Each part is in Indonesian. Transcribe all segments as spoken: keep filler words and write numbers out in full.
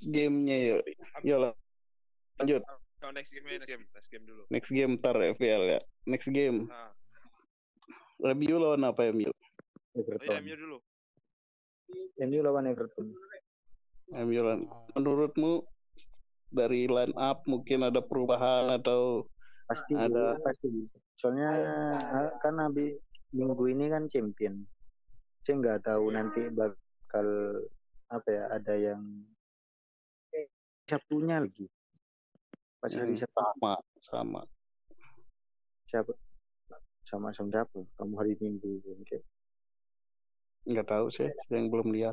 gamenya ya. Ya lanjut. Oh, next game, next game, next game dulu. Next game ntar F P L ya. Next game. Nah. Review lawan apa M U? Oh ya, M U dulu. M U lawan Everton. M U lawan. Menurutmu dari line up mungkin ada perubahan atau pasti ada pasti. Soalnya kan habis minggu ini kan champion. Saya nggak tahu nanti bakal apa ya, ada yang Sabtunya lagi. Pas hari yang Sabtu sama sama siapa sama sama siapa? Kamu hari Minggu mungkin. Nggak tahu sih, yang belum lihat.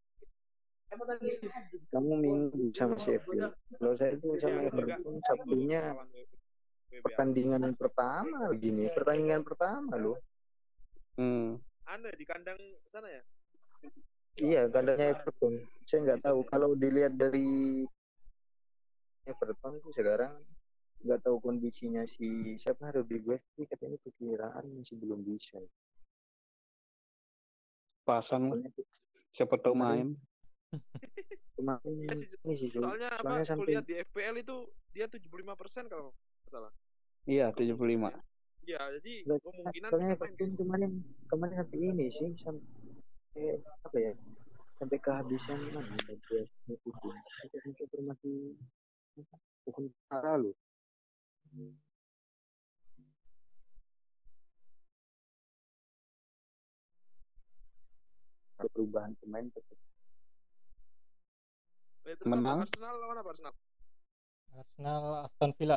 Kamu Minggu sama Sheffield. Kalau saya itu sama Everton Sabtunya pertandingan pertama begini, pertandingan pertama loh. Hmm. Anda di kandang sana ya? Iya, kandangnya Everton. Saya nggak tahu kalau dilihat dari Everton itu sekarang nggak tahu kondisinya si siapa Ruby West sih, katanya perkiraan masih belum bisa. Pasang siapa tahu main. Kemarin ini sih, soalnya apa? Aku sampai... lihat di F P L itu dia tujuh puluh lima persen kalau nggak salah. Iya, tujuh puluh lima. Iya, jadi kemungkinan soalnya bisa main. Kemarin kemarin sampai ini sih sampai apa ya? Sampai kehabisan mana dia ngikutin. Sampai informasi bukan parah loh. Ada perubahan pemain tetap. Eh, terus menang. Apa? Arsenal lawan apa Arsenal? Arsenal Aston Villa.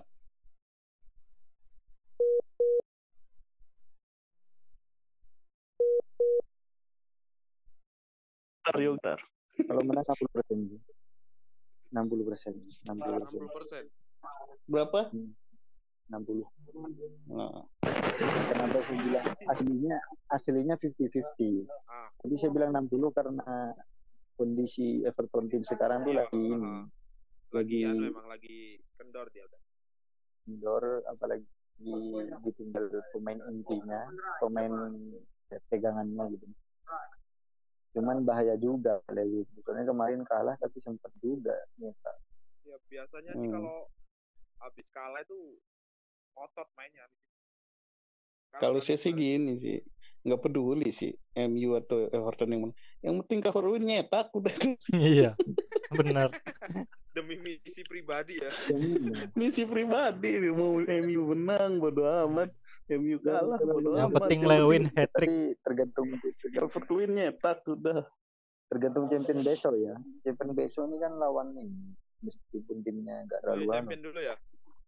Bentar, Kalau menang enam puluh persen. enam puluh persen. enam puluh persen. Berapa? enam puluh. Nah. Kenapa saya bilang aslinya aslinya lima puluh lima puluh. Ah. Jadi saya bilang enam puluh karena kondisi Everton tim sekarang tuh iya, lagi ini. Uh, lagi ya memang lagi kendor dia udah. Kendor, apalagi ditinggal pemain intinya, pemain pegangannya gitu. Cuman bahaya juga lagi. Soalnya kemarin kalah tapi sempat juga nyata. Ya biasanya hmm. sih kalau habis kalah itu otot mainnya. Kalau saya sih gini sih, nggak peduli sih M U atau Everton yang mana. Yang penting cover win nyetak udah. Iya, benar. Demi misi pribadi ya. Misi pribadi, mau M U menang bodo amat, M U kalah bodo amat. Yang penting Lewin hat-trick. Tergantung cover win nyetak udah. Tergantung champion besok ya. Champion besok ini kan lawan nih, meskipun timnya nggak terlalu. Oh, champion dulu ya.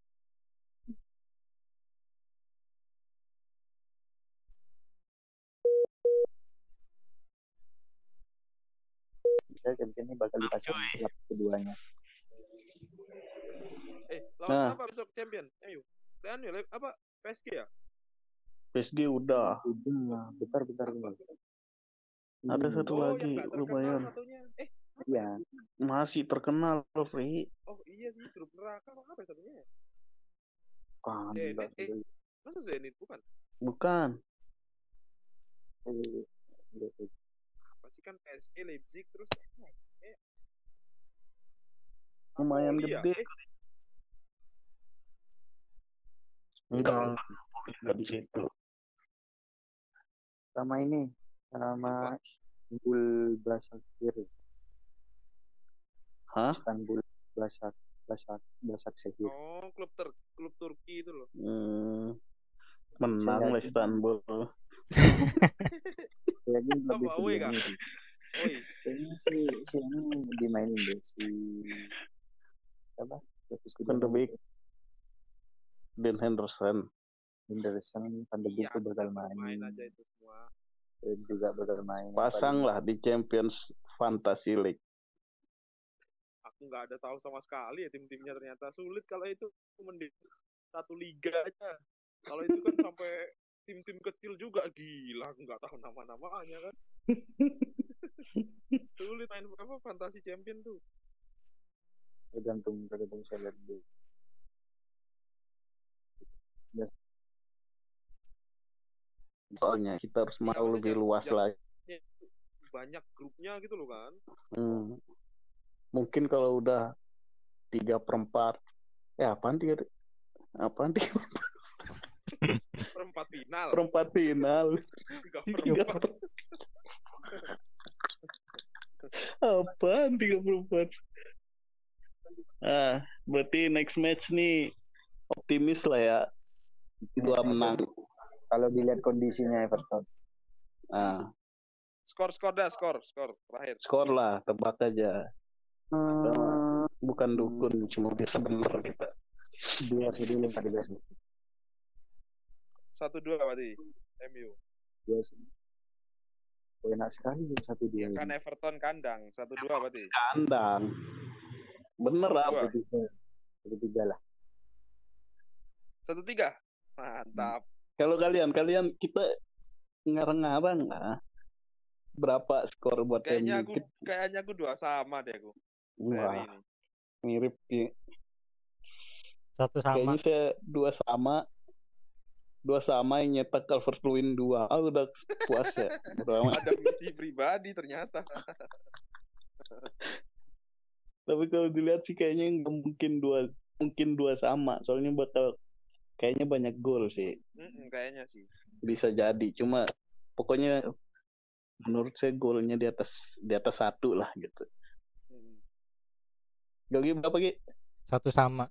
Champion ini bakal dipasang klub keduanya. Eh, lawan nah. apa besok champion? M U. Dan apa? P S G ya? P S G udah. Udah, bentar bentar bentar. Ada satu oh, lagi lumayan. Eh, iya. Masih terkenal loh, Fri. Oh iya sih, grup neraka apa ya satunya? Kan, Zenit, eh, masa Zenit bukan? Bukan. Pasti kan P S G, Leipzig terus eh. lumayan oh, gede. Eh. Enggak, enggak di situ. Sama ini, sama Istanbul Başakşehir. Hah? Istanbul Başak Başak Başakşehir. Oh, klub ter klub Turki itu loh. Hmm. Menang lah Istanbul. Ya ini lebih apa Oi kan? Oi. Ini si si ini dimainin deh si apa? Van de Beek. Dan Henderson. Henderson, Van de Beek itu bakal main. Main aja itu semua. Dan juga bakal main. Pasang lah di Champions Fantasy League. Aku nggak ada tahu sama sekali ya tim-timnya, ternyata sulit kalau itu mending satu liga aja. Kalau itu kan sampai tim-tim kecil juga gila, aku nggak tahu nama-namanya kan. Sulit main apa Fantasy Champion tuh. Tergantung tergantung saya lihat dulu. Yes. Soalnya kita harus mau ya, lebih luas lagi. Banyak grupnya gitu loh kan. Hmm. Mungkin kalau udah tiga perempat, eh apaan tiga, apaan tiga Perempat final. perempat final, Tiga Tiga perempat. per- apaan tiga perempat? Ah, berarti next match nih optimis lah ya, dua menang. Kalau dilihat kondisinya Everton. Ah, Skor skor dah skor skor terakhir. skor lah, tebak aja. Hmm, Bukan dukun, cuma biasa bener kita. dua satu empat tiga Satu dua berarti M U. dua oh, enak sekali satu Ya dua. kan Everton kandang satu dua berarti. Kandang. Bener apa? Dua. Satu tiga lah. Satu tiga. Mantap. Kalau kalian, kalian kita ngarang-ngarang lah. Berapa skor buat Kayaknya M U? aku kayaknya aku dua sama deh aku. Seri Wah, ini. mirip ya. Satu sama. Kayaknya saya dua sama. Dua sama yang nyetak Calvert-Lewin dua. Ah, udah puas ya. Udah. Ada misi pribadi ternyata. Tapi kalau dilihat sih kayaknya nggak mungkin dua, mungkin dua sama. Soalnya bakal kayaknya banyak gol sih. Mm-mm, kayaknya sih. Bisa jadi. Cuma pokoknya menurut saya golnya di atas di atas satu lah gitu. Mm. Gogi berapa Gi? Satu sama.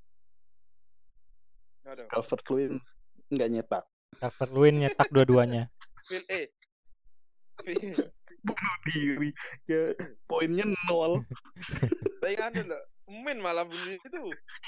Aduh. Calvert-Lewin nggak nyetak. Calvert-Lewin nyetak dua-duanya. Phil E. Phil- Bunuh diri. Ya, poinnya nol. Tapi anu loh, Min malah bunuh itu.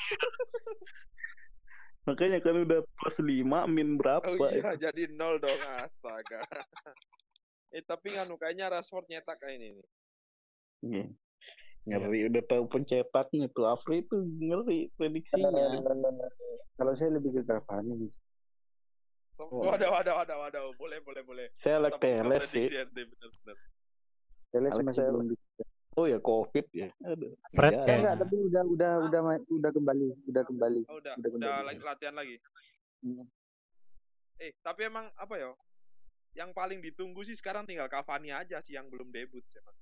Makanya kan udah plus lima, min berapa? Oh iya, jadi nol dong, astaga. eh tapi nganu kayaknya Rashford nyetak kayak ini nih. Iya. Ngeri, udah tahu pencetaknya tuh. Afri itu ngeri prediksinya. Kalau saya lebih ke Cavani. So, Oh. waduh, waduh, waduh, waduh, boleh, boleh, boleh. Saya like Tetap Teles sih. prediksi ente, bener-bener. Teles Alex masih saya- belum bisa. Oh ya covid ya. Aduh. Fred Iya. Enggak, kayaknya. tapi udah udah udah ma- udah kembali, udah kembali. Oh, udah, Udah udah, kembali. lagi- latihan lagi. Hmm. Eh, tapi emang apa ya? Yang paling ditunggu sih sekarang tinggal Cavani aja sih yang belum debut sih, Mas.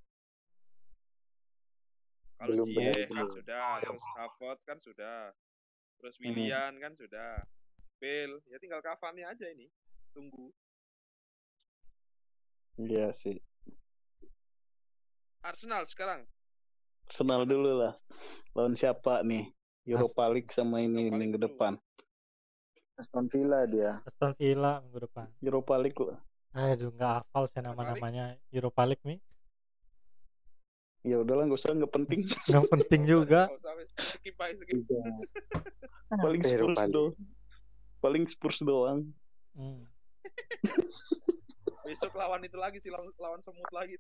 Kalau Belum Ziyech debut, kan belum. sudah, Oh, ya, terus Havertz kan sudah, terus Willian kan sudah, Bale, ya tinggal Cavani aja ini. Tunggu. Iya sih. Arsenal sekarang. Arsenal dulu lah. Lawan siapa nih? Europa League sama ini Europa League minggu dulu. depan. Aston Villa dia. Aston Villa minggu depan. Europa League lah. Aduh, nggak hafal saya nama-namanya Europa League nih. Ya udahlah, nggak usah, nggak penting. Nggak penting juga. Oh, sampai skip aja, skip. Tiga. Paling Apa Spurs Europa League? doang. Paling Spurs doang. Hmm. Besok lawan itu lagi sih, lawan, lawan semut lagi.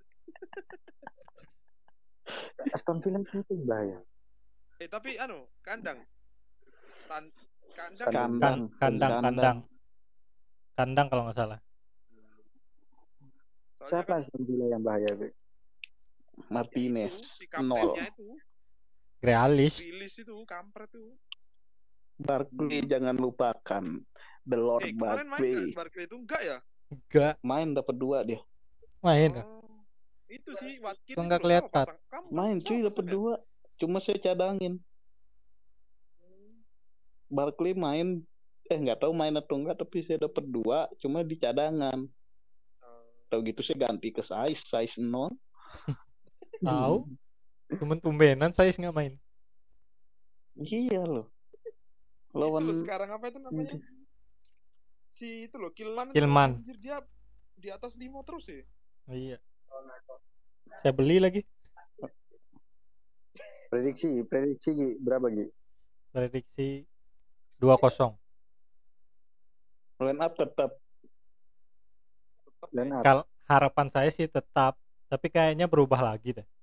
Aston Villa itu bahaya. Eh, tapi anu, kandang. Tan kandang. Kandang. Kandang. Kan- kandang, kandang. Kandang kalau nggak salah. Soalnya Siapa kan Aston Villa yang bahaya, Be? Martinez itu, si nol. kaptennya itu, Grealish. rilis itu, kampret tuh. Barkley jangan lupakan. The Lord Eh, kemarin main Barkley. nggak Barkley itu enggak ya? Enggak Main dapat dua dia. main. kan? Oh, itu sih Watkins Kok nggak itu sama kelihatan? pasang- kamu Main sama cuy dapat pasang ya? dua. Cuma saya cadangin. Barkley main eh nggak tahu main atau enggak, tapi saya dapat dua cuma di cadangan. Oh. Tahu gitu saya ganti ke size size nol. Tahu? Cuman tumbenan saya nggak main. Iya loh. Itu Lawan loh sekarang apa itu namanya? Si itu loh Kilman. itu, Kilman. Anjir, dia di atas lima terus ya. Iya. Saya beli lagi. Prediksi, prediksi Gi, berapa Gi? Prediksi dua kosong. line up tetap Tetap Line ya. up. Kal harapan saya sih tetap, tapi kayaknya berubah lagi deh.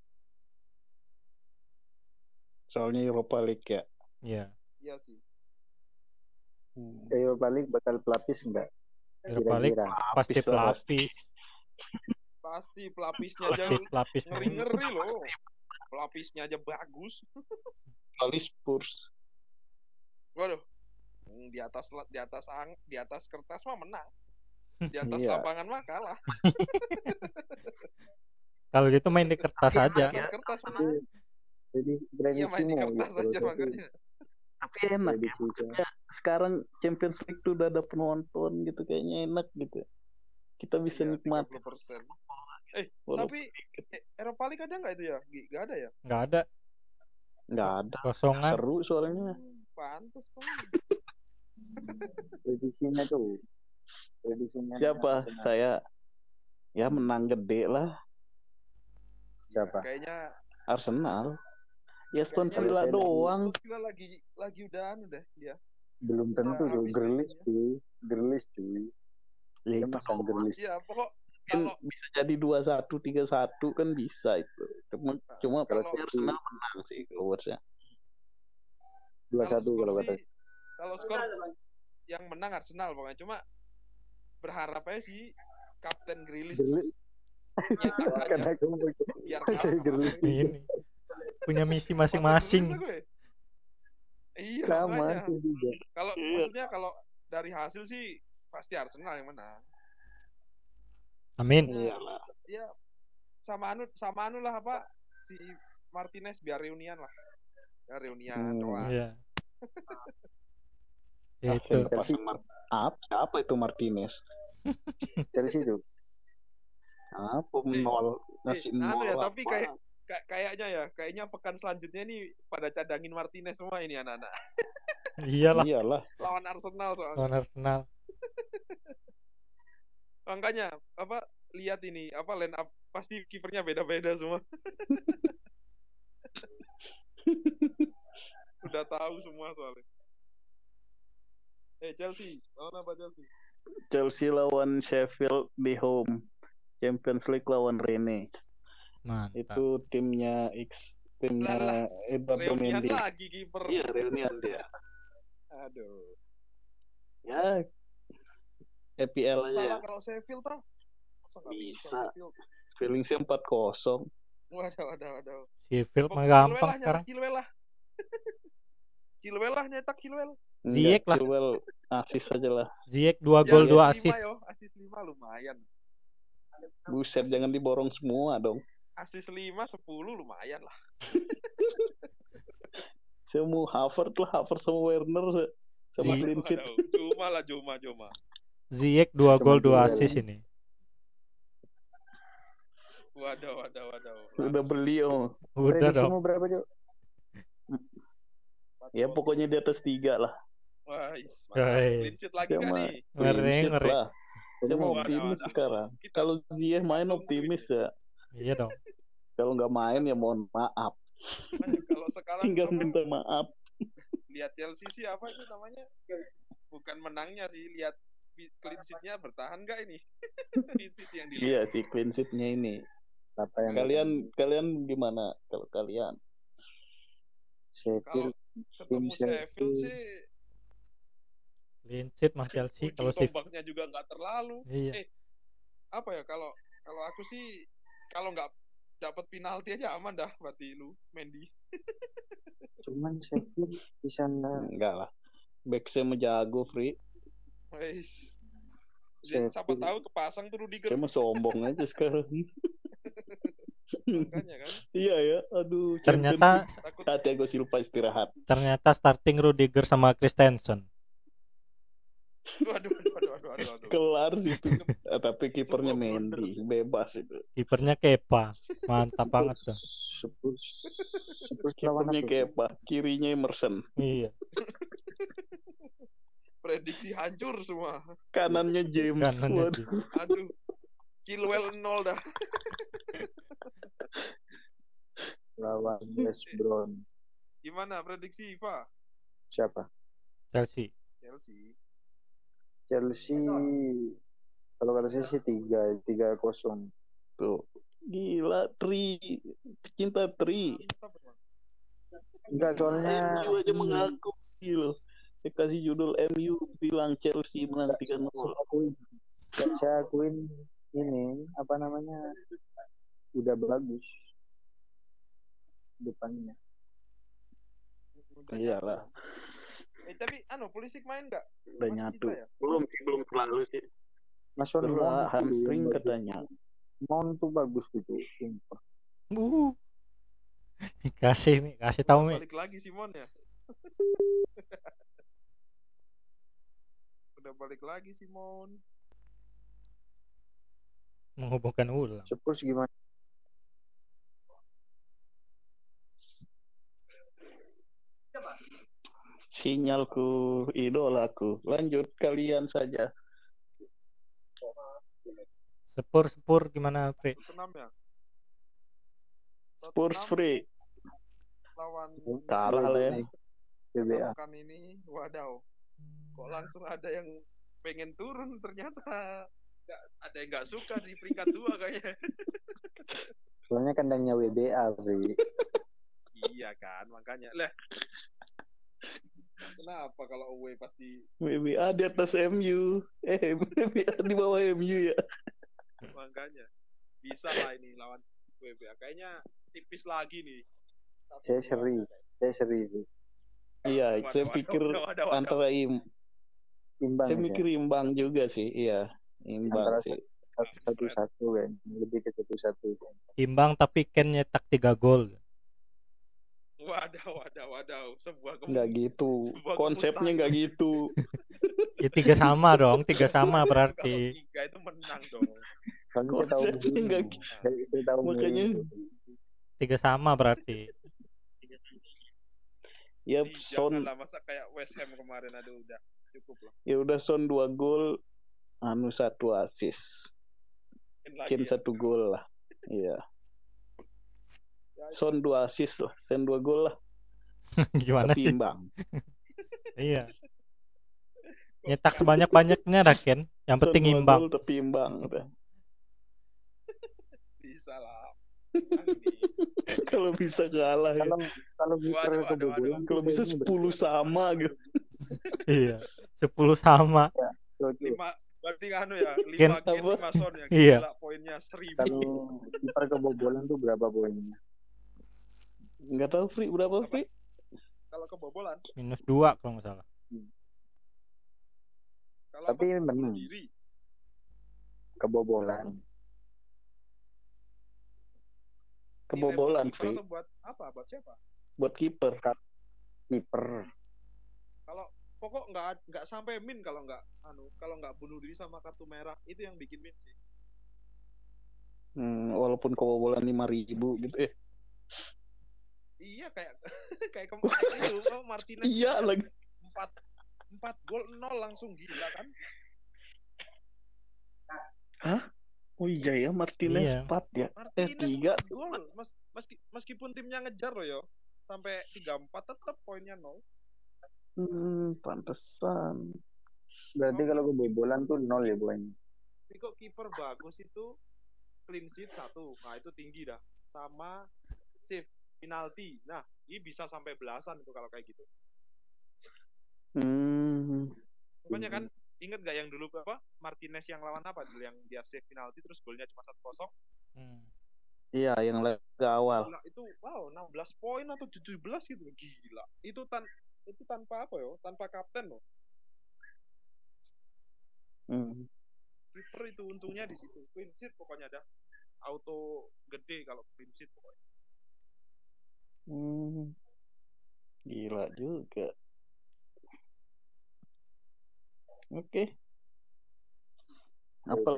soalnya Europa League ya. Iya. Iya sih. Hmm. Europa League bakal pelapis enggak? Europa League Kira-kira. pasti Pelapis lah, pasti. pelapis, Pasti pelapisnya aja pasti pelapis. ngeri-ngeri loh. Pelapisnya aja bagus. Kali Spurs. Waduh. Hmm, Di atas di atas ang, di atas kertas mah menang. Di atas Iya. lapangan mah kalah. Kalau gitu main di kertas Di aja. atas kertas menang. Jadi Iya, main di prediksimu kertas gitu. aja Tapi makanya. Tapi enak ya. prediksi saya Maksudnya sekarang Champions League tuh udah ada penonton gitu, kayaknya enak gitu. Kita bisa Iya, tiga nikmati puluh persen. Eh, walaupun tapi eh, Eropa League ada nggak itu ya? Gi- Nggak ada ya? Nggak ada. nggak ada. Kosongan. Seru soalnya. Hmm, pantes kan. prediksinya tuh. Prediksinya Siapa? Arsenal. Saya ya menang gede lah. Siapa? Kayaknya Arsenal. Ya Aston Kayaknya Villa Arsenal. doang. Aston Villa lagi lagi udah anu deh dia. Belum tentu Udah tuh. habis Grealish mainnya. cuy. Grealish cuy. Ya Dia itu masang doang. Grealish. Iya, pokok Kan kalau bisa jadi dua satu tiga satu kan bisa itu. Cuma cuma kalau pasti Arsenal menang sih keluarnya. dua kalau satu skor kalau kata. sih kalau skor yang menang Arsenal pokoknya, cuma berharap aja sih Kapten Grealish Grealish. nyetak aja Karena aku mau biar pakai kalah sama Grealish Arsenal. Ini punya misi Pasang masing-masing. Grealish aku ya. Iya, sama makanya. aku juga. Kalau Iya. maksudnya kalau dari hasil sih pasti Arsenal yang menang. Amin. Iyalah. Ya sama anu sama anu lah apa si Martinez biar reunian lah. Ya reunian Hmm. doang. Iya. Ah, Itu. saya pasang Mar- apa? Siapa itu Martinez? Chelsea tuh. Apa Eh, nol Eh, ngasih anu nol ya, tapi apa? kayak kayak- kayaknya ya, kayaknya pekan selanjutnya nih pada cadangin Martinez semua ini anak-anak. Iyalah. Iyalah. Lawan Arsenal soalnya. Lawan Arsenal. Makanya apa lihat ini apa line up pasti kipernya beda-beda semua. Udah tahu semua soalnya. Eh Chelsea, lawan apa Chelsea? Chelsea lawan Sheffield di home. Champions League lawan Rennes. Mantap. Itu timnya X, timnya Eduardo Reunian Mendy. lagi kiper. Iya, reunian dia. Aduh. Ya, E P L aja ya. Salah kalau Sheffield tau. Masa nggak Bisa. Sheffield? Feeling sih empat kosong. Waduh, waduh, waduh. Sheffield mah Chilwell gampang lah, sekarang. nyetak Chilwell lah. Chilwell lah nyetak Chilwell. Ziyech lah. Chilwell asis aja lah. Ziyech dua Ya, gol dua asis assist. lima yo, asis lima lumayan. Buset, jangan diborong semua dong. Asis lima sepuluh lumayan lah. Saya mau Havertz lah, Havertz sama Werner se- sama Ziyech. clean sheet. Waduh, Juma lah Juma Juma. Ziyech dua Cuma gol dua Chilwell. assist ini. Waduh, waduh, waduh. Udah beli oh. Udah dong. Prediksimu berapa, Cok? Ya pokoknya di atas tiga lah. Wah, is, Hei. mantap. Clean sheet lagi Saya kan mah nih? clean Ngeri, sheet ngeri. lah. Saya mau Waduh, optimis waduh. sekarang. Kita- Kalau Ziyech main optimis ya. Iya dong. Kalau nggak main ya mohon maaf. Makanya kalau sekarang Tinggal apa, minta maaf. lihat Chelsea sih apa itu namanya? Bukan menangnya sih, lihat clean sheet-nya bertahan nggak ini? Itu sih yang dilihat. Iya sih clean sheet-nya ini. Apa yang Kalian kalian gimana kalau kalian? Sheffield Ketemu Tim Sheffield. Sheffield sih Clean sheet mah Chelsea ujung kalau Sheffield. tombaknya juga nggak terlalu. Iya. Eh, apa ya kalau kalau aku sih kalau nggak dapat penalti aja aman dah berarti lu Mendy. Cuman Sheffield di sana Enggak lah. Back saya mau jago, Free. Wes. Sheffield. Siapa tahu kepasang tuh Rudiger. Saya mau sombong aja sekarang. Makanya kan. Iya ya, aduh. Ternyata Takut Champions League. Thiago Silva istirahat. ternyata starting Rudiger sama Christensen. waduh waduh waduh waduh waduh. waduh. Kelar sih itu. Eh, tapi kipernya Sebuah Mendy, bebas itu. Kipernya Kepa. Mantap banget tuh. Spurs Spurs lawan Kipernya apa? Kepa, kirinya Emerson, Iya. Prediksi hancur semua. kanannya James. Kanannya Waduh. James. Aduh. Chilwell nol dah. Lawan West Brom. Gimana prediksi Pak? Siapa? Chelsea. Chelsea. Chelsea kalau kata saya sih tiga tiga kosong. Tuh. Gila, Tri. Pecinta Tri. Mantap, Bang. Enggak soalnya M U aja mengaku. Gila. Saya kasih judul M U bilang Chelsea menang tiga nol. saya akuin, saya akuin ini apa namanya udah bagus depannya. Udah Iyalah. nyatu. Eh tapi anu Pulisic main nggak? Udah Masih nyatu. cedera ya? Belum sih, belum terlalu sih. Mason Cedera Mount tuh hamstring yang bagus. katanya. Mount tuh bagus gitu, sumpah. Uh. Kasih Mi, kasih tahu Mi. Balik lagi Simon ya. Udah balik lagi Simon. Menghubungkan ulang. Spurs gimana? Sinyalku, idolaku. Lanjut kalian saja. Sepur sepur gimana Pri? Tottenham ya. Spurs Tottenham free. lawan Kalah lah ya. B B A. pekan ini, wadaw. Kok langsung ada yang pengen turun ternyata. Nggak, ada yang nggak suka di peringkat dua kayaknya. Soalnya kandangnya W B A, Bri. Iya kan, makanya. Lah. Kenapa kalau away pasti W B A di atas M U. Eh, W B A di bawah M U ya. makanya bisa lah ini lawan W B A. Kayaknya tipis lagi nih. Satu, Saya dua. seri. Saya seri. Bri. Iya, Waduh, saya waduh, pikir waduh, waduh, waduh. antara im, Imbang saya ya. mikir imbang juga sih. Iya, imbang Antara sih. satu satu kan. Lebih ke satu satu. Imbang tapi Ken nyetak tiga gol. Wadaw, wadaw, wadaw. Sebuah kemu- Nggak gitu. sebuah Konsepnya kemustahilan. nggak gitu. Ya tiga sama dong, tiga sama Kalau berarti. tiga itu menang dong. Soalnya saya tahu Konsepnya Mourinho. nggak Saya, saya tahu Makanya Mourinho. Tiga sama berarti. ya Ih, Son janganlah masa kayak West Ham kemarin, aduh udah cukup lah. ya udah Son dua gol, anu satu assist. Mungkin lagi Mungkin ya. satu gol lah. Iya. Ya, Son dua assist lah, Son dua gol lah. Gimana Tapi sih? imbang. Iya. Nyetak sebanyak-banyaknya dah Ken. Yang Son penting dua imbang. gol tapi imbang. Udah. bisa lah. Menang nih. Kalau bisa kalah ya. Kalau kalau kiper Waduh, waduh, kebobolan waduh. tuh Kalau bisa kayaknya sepuluh sama gitu. Iya. Sepuluh sama. berat. Lima berarti anu ya, lima Ken- Ken, apa? lima Son ya. Iya. Gila, poinnya seribu. Kalau kiper kebobolan tuh berapa poinnya? Nggak tahu Free berapa Apa? Free? Kalau kebobolan, Minus dua kalau nggak salah. kalau Tapi apa? menang. Bunuh diri. Kebobolan. Kebobolan Dilempar Free atau buat apa? Buat siapa? buat kiper. Kiper. Kalau pokok nggak nggak sampai min kalau nggak anu kalau nggak bunuh diri sama kartu merah itu yang bikin min sih. Hmm, walaupun kebobolan lima ribu gitu eh. Iya kayak kayak kemarin itu oh, Martinez Iya lagi. empat empat gol nol langsung gila kan. Oh iya ya Martinez Iya. empat ya. Eh Martinez tiga. empat gol Mes, meski, meskipun timnya ngejar loh yo sampai tiga empat tetap poinnya nol. Hmm, pantesan. Berarti kalau kebobolan tuh nol ya poinnya. Tapi kok kiper bagus itu clean sheet satu, nah itu tinggi dah. Sama save penalti, nah ini bisa sampai belasan itu kalau kayak gitu. Hmm. Pokoknya kan inget gak yang dulu apa Martinez yang lawan apa dulu yang dia save penalti terus golnya cuma satu kosong. Hmm. Iya yang laga awal. Gila, itu wow enam belas poin atau tujuh belas gitu gila. Itu tan itu tanpa apa yo? Tanpa kapten loh. Hmm. Kiper itu untungnya di situ. Clean sheet pokoknya dah. Auto gede kalau clean sheet pokoknya. Hmm. Gila juga. Oke. Apa?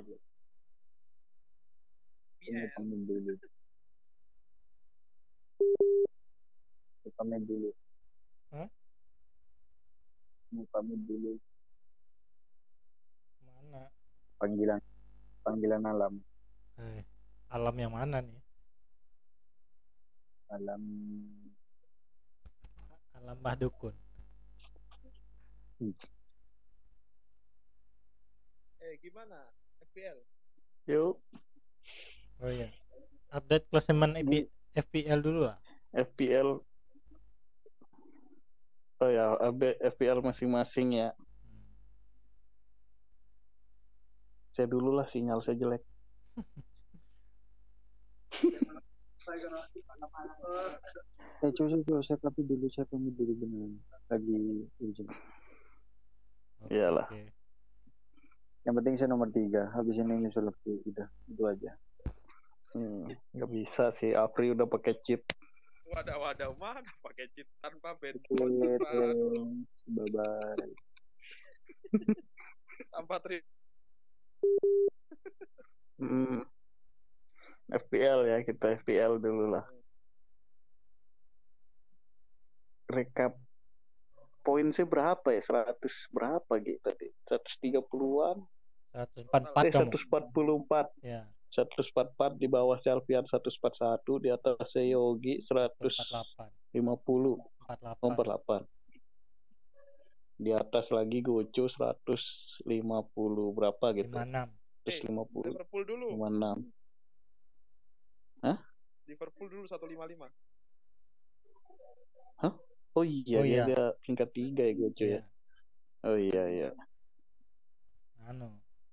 P Ini L pemain dulu. Ini pemain dulu. Hah? Ini pemain dulu. Mana? Panggilan panggilan alam. Eh, alam yang mana nih? Alam Alam Mbah Dukun. Eh gimana? F P L. Yuk Oh iya. Update klasemen F P- F P L dulu lah. F P L. Oh ya, update F P L masing-masing ya. Saya dulu lah sinyal saya jelek. Eh cuy cuy saya tapi dulu saya pamit dulu beneran. Lagi urgent. Oke, Iyalah. oke. Yang penting saya nomor tiga. Habis ini nyusul lagi udah itu aja. Hmm, nggak bisa sih. Apri udah pakai chip. Wadah-wadah mana pakai cheat tanpa band Oke, boost tanpa anu loh, thanks. Bye-bye. tanpa tri Hmm, F P L ya, kita F P L dulu lah. Rekap poin sih berapa ya? seratus berapa gitu tadi? seratus tiga puluhan? seratus empat puluh empat Eh, kamu. seratus empat puluh empat. Ya, seratus empat puluh empat di bawah Selvian seratus empat puluh satu, di atas Yogi seratus lima puluh, empat puluh delapan. oh, empat puluh delapan. Di atas lagi Gojo seratus lima puluh berapa gitu. lima puluh enam. seratus lima puluh, Liverpool dulu. lima puluh enam. Hah? Liverpool dulu seratus lima puluh lima. Hah? Oh iya, Oh dia, iya. dia peringkat tiga ya Gojo Iya. ya. Oh iya iya. Anu.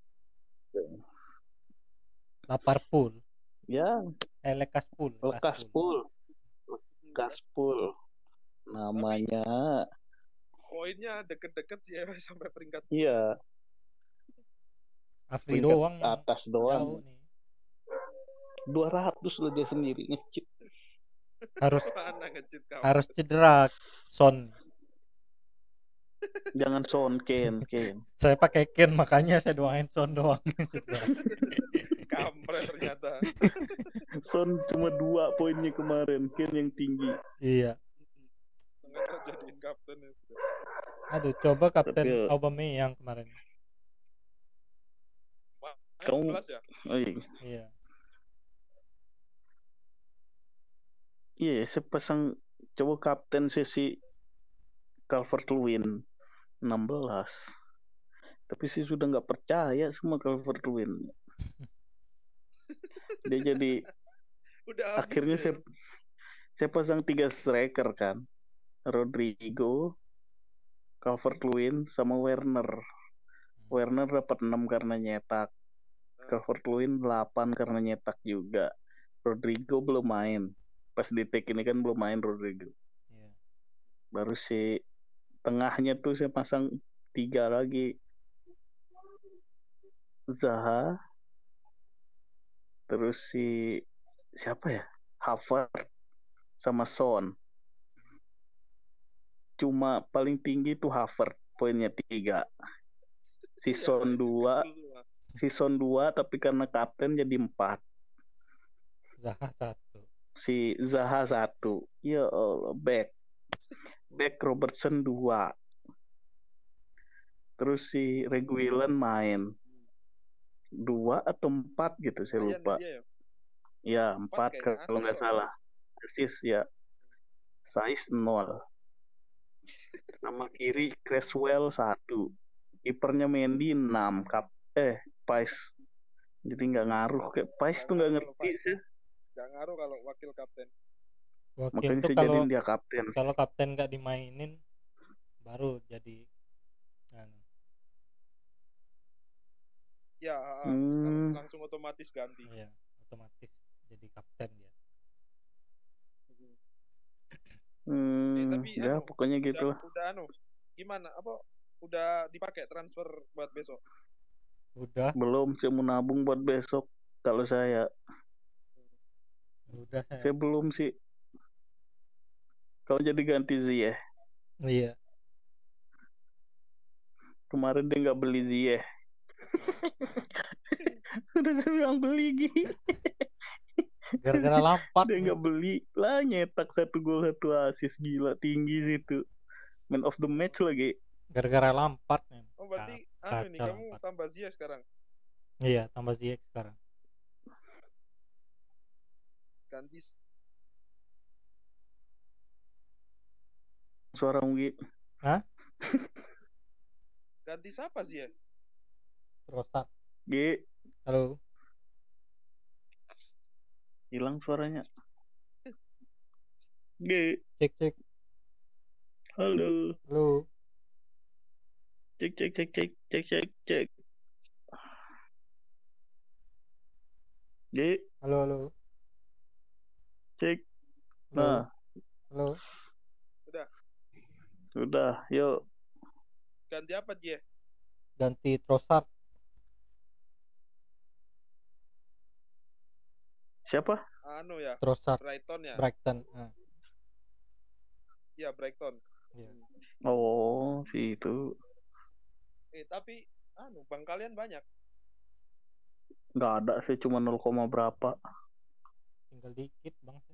Liverpool. Ya, Eh Lekaspool. Lekaspul. Lekaspul. Namanya. Poinnya deket-deket sih ya sampai peringkat Iya, Afri peringkat doang yang atas jauh doang. nih. dua ratus loh dia sendiri ngecit. Harus mana ngecit kamu. harus cedera Son. Jangan Son, Ken, Ken. Saya pakai Ken makanya saya doain Son doang. Kampret ternyata. Son cuma dua poinnya kemarin, Ken yang tinggi. Iya. Sengaja jadiin kapten itu. Aduh, coba Kapten Tapi- Aubameyang kemarin. Kamu- Jelas ya? Oh iya, Iya. iya saya pasang coba kapten sesi Calvert-Lewin enam belas. Tapi sih sudah nggak percaya sama Calvert-Lewin. Dia jadi Udah habis akhirnya ya? saya saya pasang tiga striker kan. Rodrigo, Calvert-Lewin sama Werner. Werner dapat enam karena nyetak. Calvert-Lewin delapan karena nyetak juga. Rodrigo belum main. Pas di take ini kan belum main Rodrigo. Iya. Baru si tengahnya tuh saya pasang tiga lagi. Zaha. Terus si siapa ya? Havertz sama Son. Cuma paling tinggi tuh Havertz, poinnya tiga. Si Son dua, Kecil semua. si Son dua tapi karena kapten jadi empat. Zaha satu. Si Zaha satu. Ya Allah, back. Back Robertson dua. Terus si Reguilon main. Dua atau empat gitu, saya Lumayan lupa. dia ya. Ya, empat kayaknya, kalau nggak assist salah. Assist ya. Size nol. Sama kiri Creswell satu. Kipernya Mendy enam. Kap eh, Pais. Jadi nggak ngaruh. Kayak Pais tuh nggak ngerti sih. Gak ngaruh kalau wakil kapten. Wakil Makanya tuh saya kalau jadiin dia kapten. kalau kapten nggak dimainin baru jadi anu. Ya, Hmm. langsung otomatis ganti. Iya, otomatis jadi kapten dia. Hmm, Eh, tapi ya anu, pokoknya gitu Udah, lah. udah anu, gimana? Apa udah dipakai transfer buat besok? Udah, Belum, saya mau nabung buat besok. Kalau saya, udah saya. saya belum sih. Kalau jadi ganti Ziyech. Iya. Kemarin dia nggak beli Ziyech. Udah saya bilang beli Gi. Gara-gara Lampard. Dia nggak beli lah, nyetak satu gol satu assist, gila tinggi situ. Man of the match lagi. Gara-gara Lampard nih. Oh, berarti Ka- anu nih kacau kamu empat. tambah Ziyech sekarang. Iya, tambah Ziyech sekarang. Ganti Suara Gi. ganti siapa sih ya? Trossard. Gi, Halo. hilang suaranya. Gi, Cek cek. halo. Halo. Cek cek cek cek cek cek cek. Gi, Halo halo. cek. Halo. Nah, Halo. udah, yuk. Ganti apa dia? Ganti Trossard. Siapa? Anu ya, Trossard Brighton ya. Brighton. Nah. Iya, Brighton. Iya. Hmm. Oh, si itu. Eh, tapi anu, bang kalian banyak. Nggak ada sih, cuma nol, berapa. Tinggal dikit bang sih.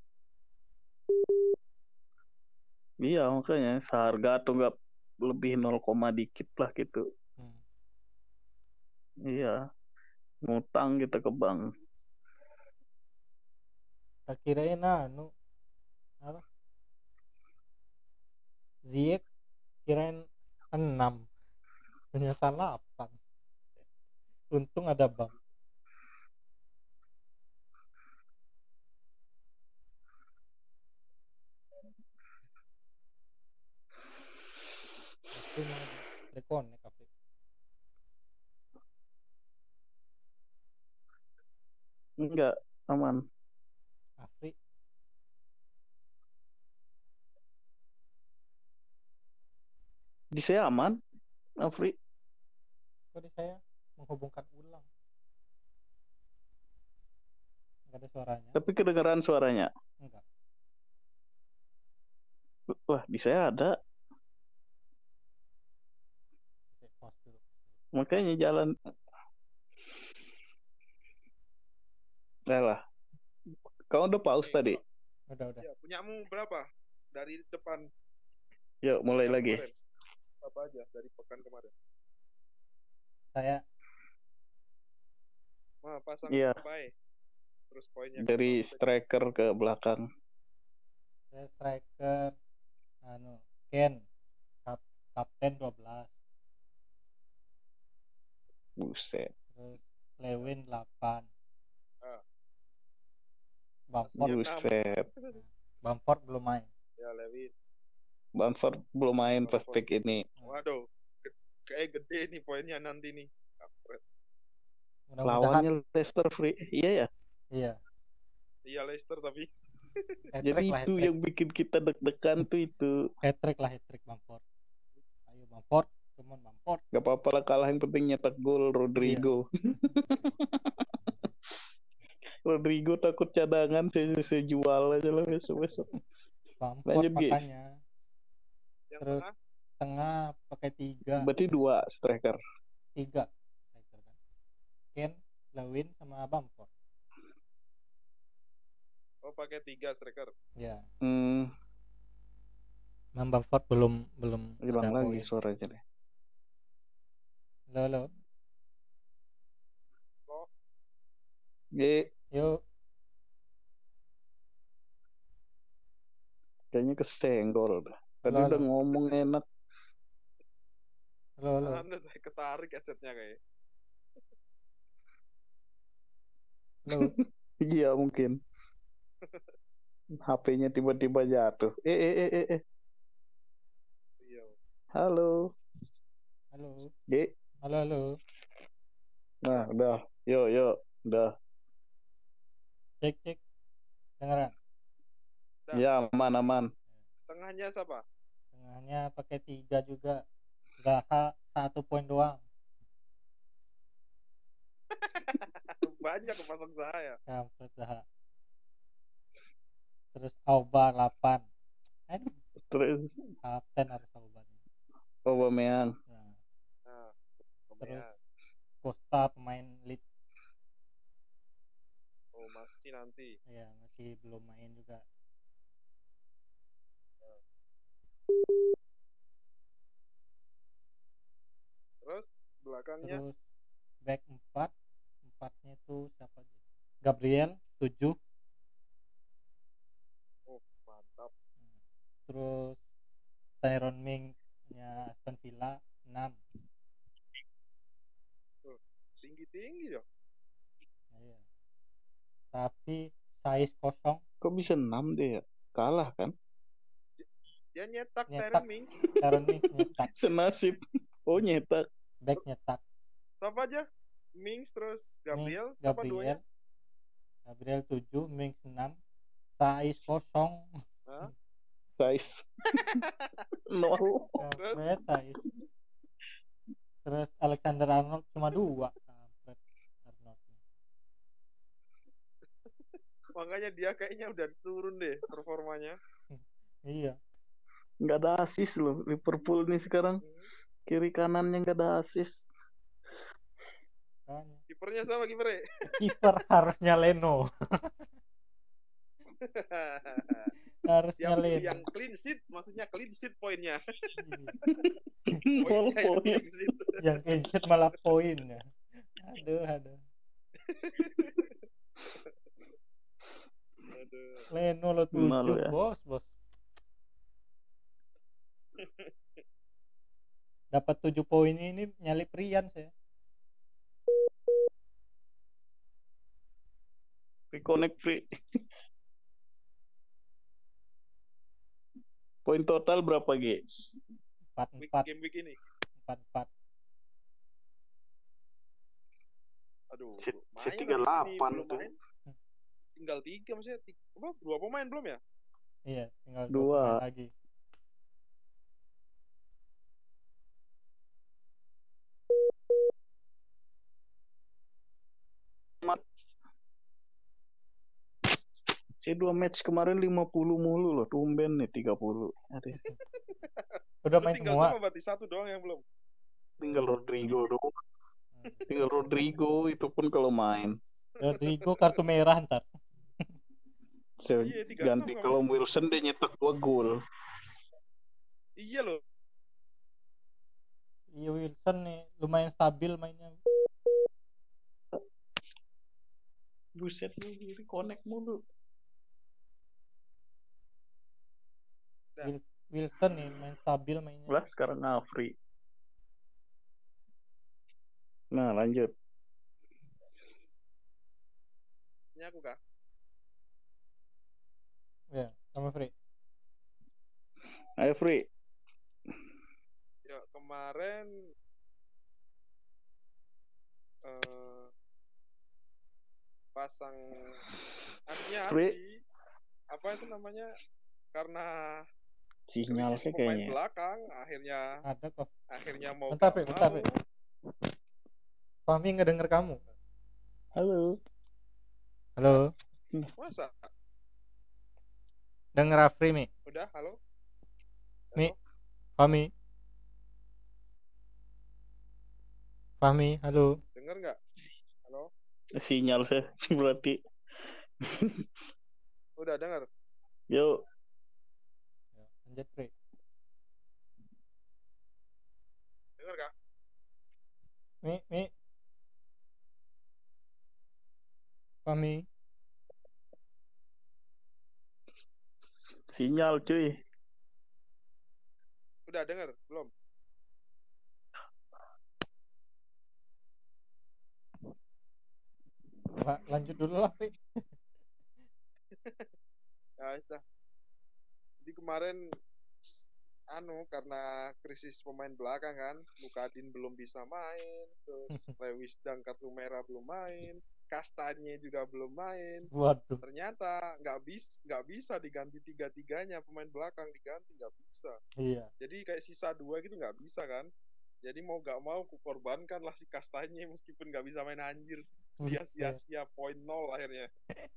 Iya, makanya seharga atau nggak lebih nol, dikit lah gitu. Hmm. Iya, ngutang kita ke bank. Tak kirain anu apa? Ziyech kirain enam, ternyata delapan. Untung ada bang. Afri mana bang? Reconnect Afri. Enggak, aman. Afri. Di saya aman, Afri. Kok di saya menghubungkan ulang? Nggak ada suaranya? Tapi kedengaran suaranya. Enggak. Wah, di saya ada. Saya pause dulu. Makanya jalan. Nah lah. Kau udah pause Nih, tadi? kalau- Udah udah. Ya, punyamu berapa? Dari depan Yuk, mulai pekan lagi. kemarin. Apa aja dari pekan kemarin? Saya Mah pasang Iya. sampai. Terus poinnya Dari kenapa? striker ke belakang. saya striker anu Ken kap, kapten dua belas, Buset. terus Lewin delapan, Ah. Bamford Enam. Buset. Bamford belum main. Ya, Lewin. Bamford belum main pas Bamford. pick ini. Waduh, ge- kayak gede nih poinnya nanti nih. Kampret. Mudah-mudahan Lawannya Leicester free. Iya ya. iya. Iya Leicester tapi Jadi Hat-trick lah itu hat-trick. yang bikin kita deg-degan tuh itu. Hat-trick lah hat-trick Bamford. Ayo Bamford, teman Bamford. Gak apa-apa lah kalah, yang penting nyetak gol Rodrigo. Rodrigo takut cadangan, saya, saya jual aja lah besok-besok. Bamford Lanjut guys. makanya. yang Terus tengah tengah pakai tiga, Berarti dua striker. tiga striker kan. Ken, Lewin sama Bamford. oh pakai tiga striker. Ya. Hmm, Mam Bamford belum belum hilang ada lagi poin. suaranya deh. Halo, halo. Oh, Ye, Yuk. kayaknya kesenggol dah. Tadi Halo, udah halo. ngomong enak. Halo, halo. anda saya ketarik headsetnya kayak. Halo. Iya mungkin. H P-nya tiba-tiba jatuh. Eh, eh, eh, eh, eh. Iya. Halo. Halo. Ye. Halo, halo. Nah, udah. Yuk, yuk. Udah. Cek, cek. Dengaran. Dah. Ya, aman, aman. Tengahnya siapa? Tengahnya pakai tiga juga. Zaha satu poin doang. Banyak kepasang saya. Kampret Zaha. Terus Auba delapan. Aduh, Terus kapten harus Auba nih. Aubameyang. Nah, Nah, terus Aubameyang. Costa pemain lead. Oh masih nanti. Ya, masih belum main juga. Terus belakangnya Terus back empat. Empatnya tuh siapa aja? Gabriel tujuh. oh mantap. Terus Tyrone Mings-nya Aston Villa enam. Tinggi-tinggi ya. Iya. Tapi size kosong. Kok bisa enam deh ya? Kalah kan? Dia nyetak Nyetak. Tyrone Mings. Tyrone Mings nyetak. Senasib. Oh, nyetak. Back nyetak. Siapa aja? Mings terus Gabriel, Mings, siapa duanya? Gabriel. Gabriel tujuh, Mings enam. Size kosong. Hah? Size. Nol. Terus? Kampret size. Terus Alexander Arnold cuma dua. Kampret Arnold. Makanya dia kayaknya udah turun deh performanya. Iya. Nggak ada asis loh Liverpool nih sekarang. Kiri kanannya nggak ada asis. Makanya. Kipernya sama kipernya. Kiper harusnya Leno. Harusnya yang Leno. yang clean sheet maksudnya clean sheet poinnya. Full Poinnya yang point. clean sheet. Yang clean sheet malah poinnya. Aduh, aduh. Aduh. Leno lo Malu tujuh, ya. bos, bos. Dapat tujuh poin ini nyalip Rian saya. Reconnect free. Poin total berapa G? empat Week, empat game week ini. empat empat. Aduh, Set- lumayan set habis tiga puluh delapan ini belum tuh. main. Tinggal tiga maksudnya tiga, apa, dua pemain belum ya? Iya, tinggal dua Dua. pemain lagi. Si dua match kemarin lima puluh mulu loh, tumben nih tiga puluh. Aduh, Udah Lu main tinggal semua. sama berarti satu doang yang belum. tinggal Rodrigo doang. Hmm. Tinggal Rodrigo itu pun kalau main. Rodrigo kartu merah ntar. Saya Iya, tiga ganti enam kalau namanya. Wilson dia nyetak dua gol. Iya loh. Iya, Wilson nih lumayan stabil mainnya. Buset lu ini connect mulu. Dah. Wil- Wilson nih main stabil mainnya. Lah sekarang Afri. Nah lanjut. Ini aku kah? Ya, sama Free. Ayo Free. Ya kemarin eh, pasang artinya Free. si apa itu namanya karena Sinyal krisis sih pemain kayaknya. belakang akhirnya Ada kok. akhirnya mau Bentar, gak Fri, mau bentar, Fri. Fahmi nggak denger kamu. Halo. Halo. masa Denger Afri, Mi. udah halo Mi. Halo? Fahmi. Fahmi, halo. denger nggak halo Sinyal sih berarti. udah denger Yuk. Ya, lanjut, Fri. denger kah Mi, Mi. Fahmi. Sinyal cuy. udah denger belum La- lanjut dulu lah, Fri. ya sudah jadi kemarin anu karena krisis pemain belakang kan Mukadin belum bisa main terus Lewis Dang kartu merah belum main Kastanye juga belum main Waduh. ternyata nggak bis nggak bisa diganti tiga tiganya pemain belakang diganti nggak bisa Iya. jadi kayak sisa dua gitu nggak bisa kan jadi mau nggak mau kukorbankan lah si Kastanye meskipun nggak bisa main anjir dia Buset. sia-sia poin nol akhirnya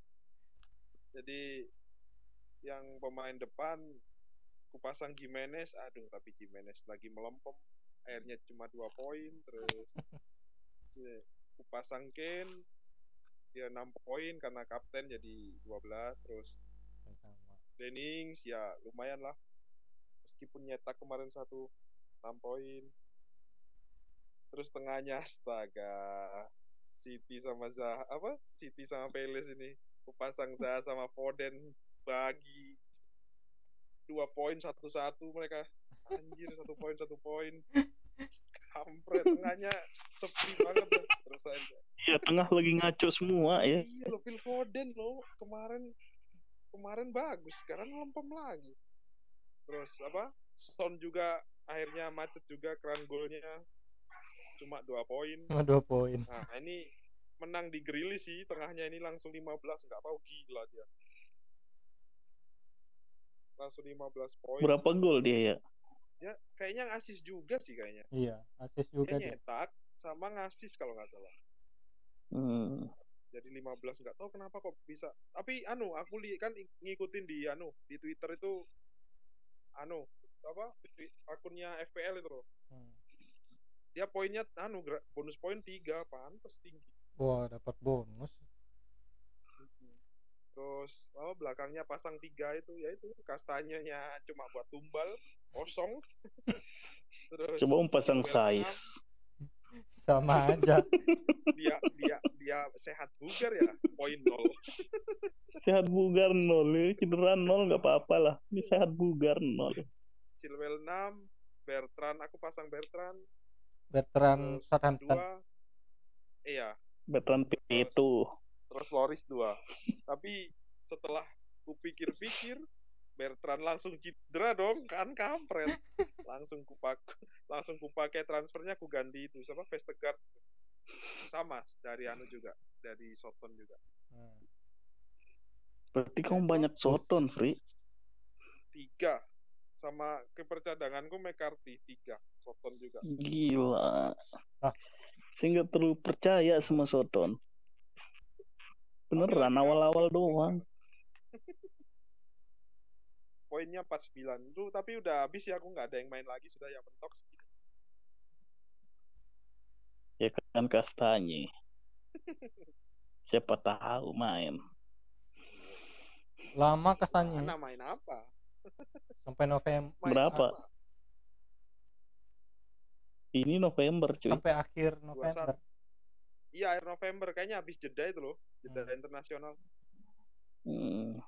jadi yang pemain depan kupasang Gimenez aduh tapi Gimenez lagi melempem akhirnya cuma dua poin terus si- kupasang Kane dia enam poin karena kapten jadi dua belas terus Sama. Dennings ya lumayan lah meskipun nyetak kemarin satu enam poin terus tengahnya astaga City sama Zaha apa City sama Palace ini kupasang Zaha sama Foden bagi dua poin satu satu mereka anjir satu poin satu poin kampret tengahnya sepi banget tuh. Terus aja Iya tengah lagi ngaco semua ya. iya lo Phil Foden lo kemarin kemarin bagus sekarang lempem lagi terus apa Son juga akhirnya macet juga keran golnya cuma dua poin Cuma dua poin. nah ini menang di Grealish sih tengahnya ini langsung lima belas nggak tahu gila dia langsung lima belas poin Berapa sih. gol dia ya? Ya kayaknya ngasis juga sih kayaknya Iya, asis dia juga dia. nyetak sama ngasis kalau nggak salah Hmm. jadi lima belas nggak tahu kenapa kok bisa tapi anu aku lihat kan ngikutin di anu di Twitter itu anu apa akunnya F P L itu loh. Hmm. Dia poinnya anu gra- bonus poin tiga, pantes tinggi. Wah, dapat bonus. Terus oh belakangnya pasang tiga itu ya itu kastanyanya cuma buat tumbal kosong. Terus Coba om pasang silver enam, size. Sama aja. dia dia dia sehat bugar ya poin nol. Sehat bugar nol, ya. Cedera nol nggak apa-apa lah. Ini sehat bugar nol. Silver enam, Bertrand aku pasang Bertrand. Veteran Terus Southampton. dua iya Veteran itu. terus Loris dua. Tapi setelah kupikir-pikir Bertrand langsung cedera dong kan kampret. Langsung kupak langsung kupakai transfernya ku ganti itu siapa Vestergaard sama dari anu juga dari Soton juga. Hmm. Berarti kamu banyak Soton, Free. Tiga sama kiper cadanganku McCarthy tiga Soton juga. Gila. Ah. Saya nggak terlalu percaya sama Soton. Beneran Tapi lagi awal-awal ngambek doang. Poinnya empat puluh sembilan itu tapi udah habis ya aku nggak ada yang main lagi sudah yang mentok. Ya kan Kastanye. Siapa tahu main. Lama kesannya Mana main apa? sampai November, Main Berapa? apa? Ini November cuy. sampai akhir November. Iya akhir November kayaknya habis jeda itu loh jeda Hmm. internasional. Hmm.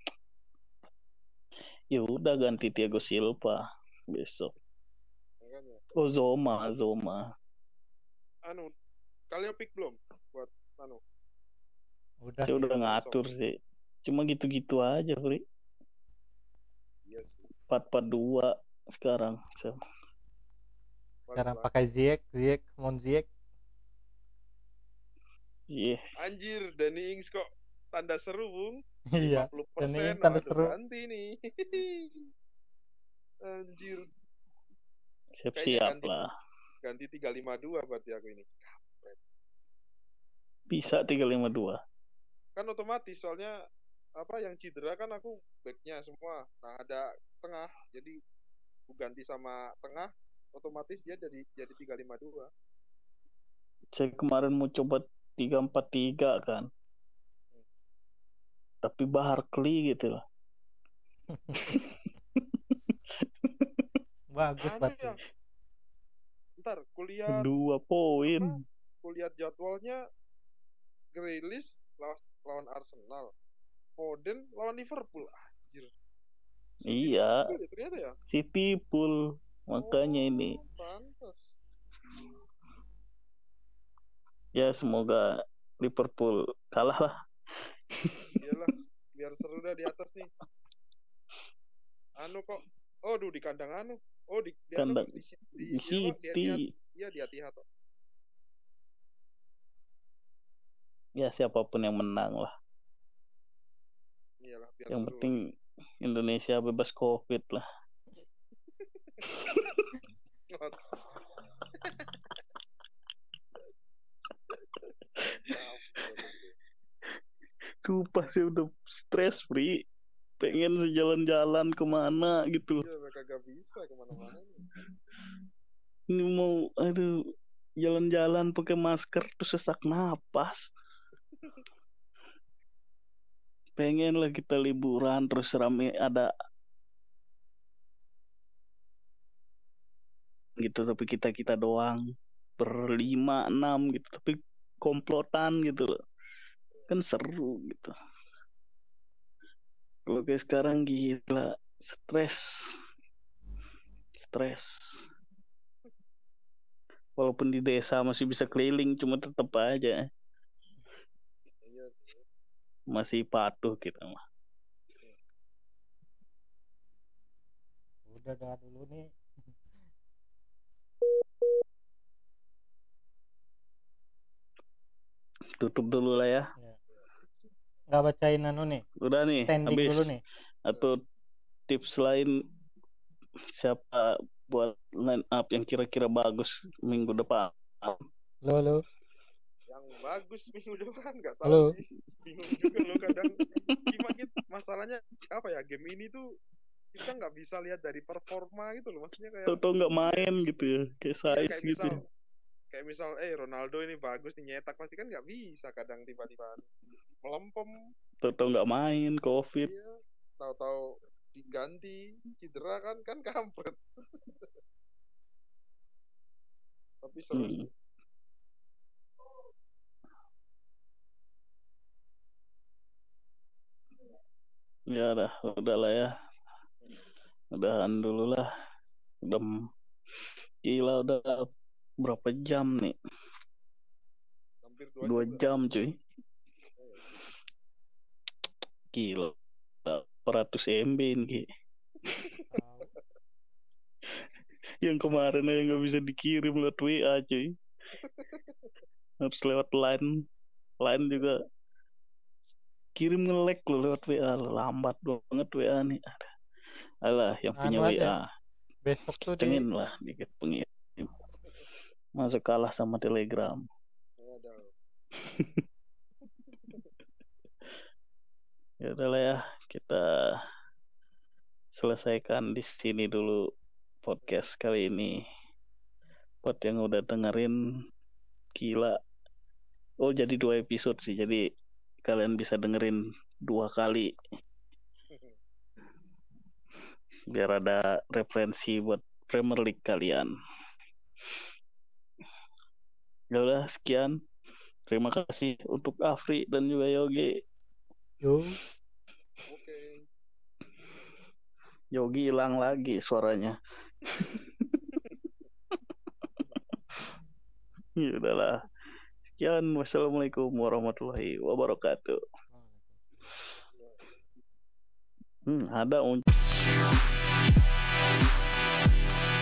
Ya udah ganti Thiago Silva besok. Makanya. Oh Zoma, Zoma. Anu kalian pick belum buat anu? Udah Saya sih. udah ngatur sih. Cuma gitu-gitu aja, Fri. Iya sih. empat empat dua sekarang. So. Sekarang Balik pakai Ziyech, Ziyech, Mon Ziyech. Iya. Anjir, Danny Ings kok tanda seru, Bung. Iya. lima puluh Danny persen. Ings tanda Waduh, seru. ganti nih. Anjir. Siap-siap ganti. lah. Ganti tiga lima dua berarti aku ini. Bisa tiga lima dua. Kan otomatis soalnya apa yang cedera kan aku backnya semua. Nah, ada tengah. Jadi aku ganti sama tengah, otomatis dia jadi jadi tiga lima dua. Saya kemarin mau coba tiga empat tiga kan. Tapi Barkley gitu loh. Bagus Anu berarti. ya. Ntar kulihat Dua poin. apa? Kulihat jadwalnya Grealish lawan, lawan Arsenal. Foden lawan Liverpool. Anjir. City Iya. Liverpool ya, ternyata ya. City pool. Makanya Oh, ini. Pantas. Ya semoga Liverpool kalah lah. Iyalah, biar seru dah di atas nih. Anu kok. Oh, duh di kandang anu. Oh, di di anu, Kandang di, di, di di, siapa? Di City. Etihad. Iya, di Etihad. Ya siapapun yang menang lah. Iyalah, biar Yang seru. penting Indonesia bebas COVID lah. Sumpah sih udah stres, Pri. Pengen sejalan-jalan kemana gitu. Iya, mereka gak bisa kemana-mana. Ini mau, aduh, jalan-jalan pakai masker tuh sesak napas. Pengen lah kita liburan terus rame ada gitu, tapi kita kita doang berlima enam gitu, tapi komplotan gitu loh. Kan seru gitu. Kalau kayak sekarang gila, stres, stres. Walaupun di desa masih bisa keliling, cuma tetap aja Iya sih. masih patuh kita mah. Udah dah dulu nih. Tutup dulu lah ya. Ya. Nggak bacain anu nih. Udah nih, Standing habis. dulu nih. Atau tips lain siapa buat line up yang kira-kira bagus minggu depan? Lo lo. Yang bagus minggu depan nggak tahu Halo. sih. Bingung juga lo kadang. Gimana gitu? Masalahnya apa ya? Game ini tuh kita nggak bisa lihat dari performa gitu loh, maksudnya kayak Tau-tau nggak main gitu ya, kayak iya, size kayak gitu. misal kayak misal eh Ronaldo ini bagus nih nyetak, pasti kan nggak bisa kadang tiba-tiba melempem. Tau-tau nggak main, covid. Iya, tahu-tahu diganti cedera kan kan kampret. Tapi seru Hmm. sih. Ya dah, udahlah ya. Udahan dulu lah. Udah m- gila udah berapa jam nih? Hampir dua Dua jam. jam cuy. Gila. empat ratus M B ini. Tahu. Yang kemarin aja nggak bisa dikirim lewat W A cuy. Harus lewat line. Line juga kirim nge-lag lo lewat W A. Lambat banget W A nih. Alah yang punya Anu W aja. A. Besok tuh di Cengin lah dikit pengirim. Masa kalah sama Telegram. Ada. Ya udahlah ya, kita selesaikan di sini dulu podcast kali ini. Buat yang udah dengerin, gila. Oh jadi dua episode sih, jadi kalian bisa dengerin dua kali. Biar ada referensi buat Premier League kalian. Ya udah sekian. Terima kasih untuk Afri dan juga Yogi. yo Oke. Yogi hilang lagi suaranya. Ya udahlah. Sekian. Wassalamualaikum warahmatullahi wabarakatuh. Hmm, ada un-